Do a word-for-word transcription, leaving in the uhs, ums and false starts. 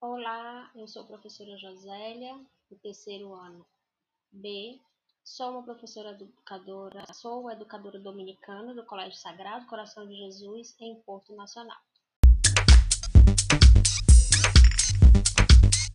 Olá, eu sou a professora Josélia, do terceiro ano B. Sou uma professora educadora, sou educadora dominicana do Colégio Sagrado Coração de Jesus, em Porto Nacional.